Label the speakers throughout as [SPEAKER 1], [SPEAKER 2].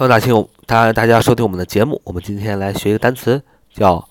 [SPEAKER 1] 欢迎大家收听我们的节目。我们今天来学一个单词，叫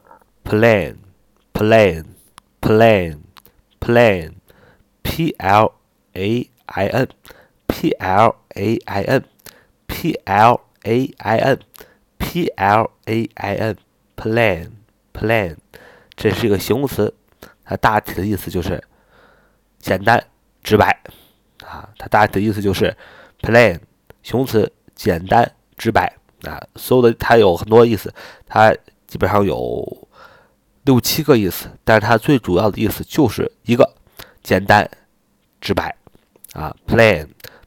[SPEAKER 1] plan，plan，plan，plan，plan，plan，plan，plan，这是一个形容词，它大体的意思就是简单直白啊。它大体的意思就是 plan 形容词。简单直白啊，所有的它有很多意思，它基本上有6、7个意思，但是它最主要的意思就是一个简单直白啊 ，plan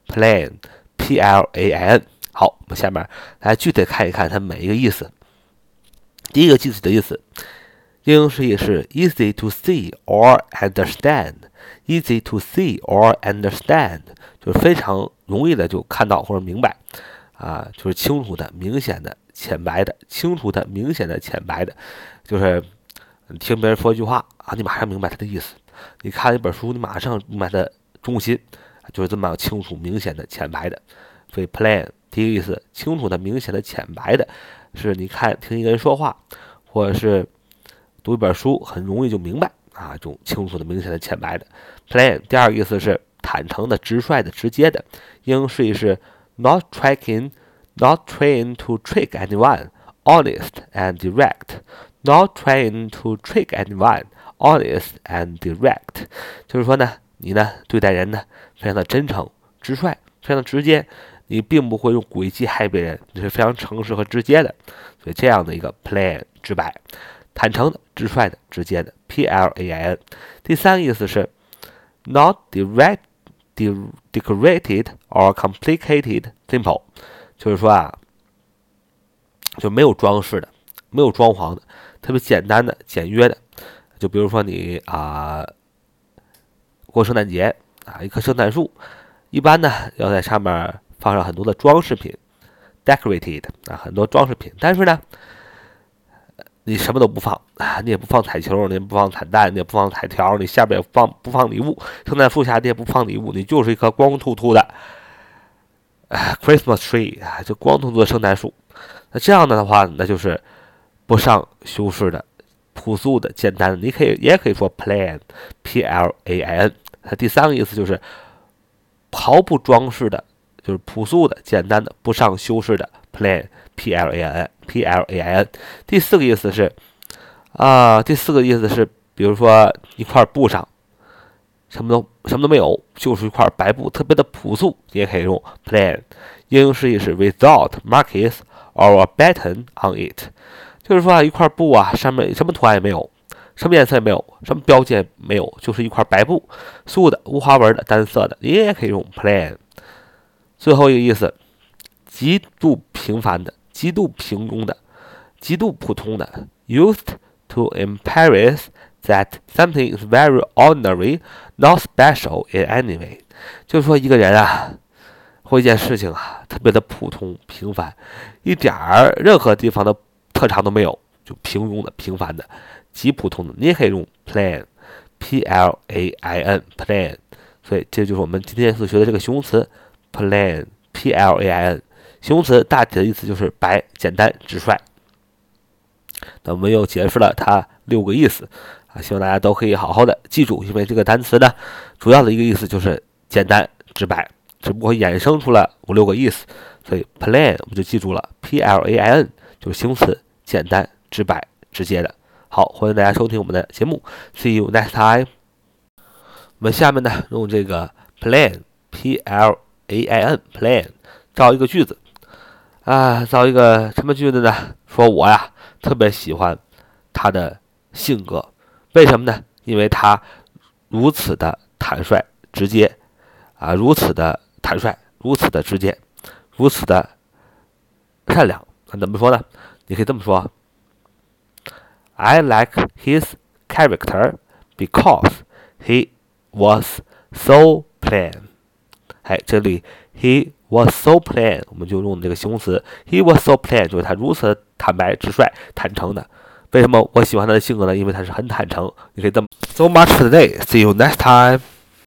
[SPEAKER 1] plan。好，我们下面来具体看一看它每一个意思。第一个具体的意思，英式意是 easy to see or understand，easy to see or understand 就是非常容易的就看到或者明白。啊，就是清楚的、明显的、浅白的，清楚的、明显的、浅白的，就是你听别人说一句话啊，你马上明白他的意思；你看一本书，你马上明白他中心，就是这么清楚、明显的、浅白的。所以 plan 第一个意思，清楚的、明显的、浅白的，是你听一个人说话，或者是读一本书，很容易就明白啊，这种清楚的、明显的、浅白的 plan。第二个意思是坦诚的、直率的、直接的，英式是Not trying to trick anyone, honest and direct. Not trying to trick anyone, honest and direct. 就是说呢，你呢对待人呢非常的真诚、直率，非常的直接，你并不会用诡计害别人，你是非常诚实和直接的。所以这样的一个 plan 直白、坦诚的、直率的、直接的 plan。第三个意思是 not decorated or complicated simple， 就是说啊，就没有装饰的，没有装潢的，特别简单的、简约的。就比如说你过圣诞节啊，一棵圣诞树，一般呢要在上面放上很多的装饰品 ，decorated 啊，很多装饰品。但是呢，你什么都不放啊，你也不放彩球，你也不放彩蛋，你也不放彩条，你下边也不放礼物，圣诞树下你也不放礼物，你就是一棵光秃秃的Christmas tree 啊，就光秃秃的圣诞树。那这样的话，那就是不上修饰的、朴素的、简单的。你也可以说 plan plan。它第三个意思就是毫不装饰的，就是朴素的、简单的、不上修饰的 plan plan。第四个意思是比如说一块布上什么都没有，就是一块白布，特别的朴素，你也可以用 plan。英式意是 without markings or a button on it， 就是说一块布啊，上面什么图案也没有，什么颜色也没有，什么标记也没有，就是一块白布，素的、无花纹的、单色的，你也可以用 plan。最后一个意思，极度平凡的、极度平庸的、极度普通的 ，used to emphasize that something is very ordinary, not special in any way。就是说一个人啊，或一件事情啊，特别的普通平凡，一点儿任何地方的特长都没有，就平庸的、平凡的、极普通的，你也可以用 plan plan。所以这就是我们今天所学的这个形容词 plan plan。形容词大体的意思就是白、简单、直率。那我们又解释了它6个意思啊，希望大家都可以好好的记住，因为这个单词呢，主要的一个意思就是简单直白，只不过衍生出了5、6个意思，所以 plan 我们就记住了 plan 就是形容词，简单直白直接的。好，欢迎大家收听我们的节目 ，See you next time。我们下面呢用这个 plan plan 造一个句子啊，造一个什么句子呢？说我呀特别喜欢他的性格，为什么呢？因为他如此的坦率直接啊，如此的坦率，如此的直接，如此的善良。那怎么说呢？你可以这么说 ：I like his character because he was so plain。哎，这里 he was so plain， 我们就用这个形容词 he was so plain， 就是他如此坦白、直率、坦诚的。为什么我喜欢他的性格呢？因为他是很坦诚。你可以这么 So much for today. See you next time.